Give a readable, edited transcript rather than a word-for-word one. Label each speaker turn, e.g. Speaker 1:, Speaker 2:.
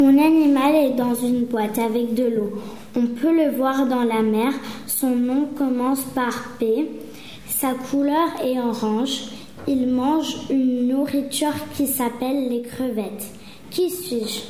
Speaker 1: Mon animal est dans une boîte avec de l'eau. On peut le voir dans la mer. Son nom commence par P. Sa couleur est orange. Il mange une nourriture qui s'appelle les crevettes. Qui suis-je ?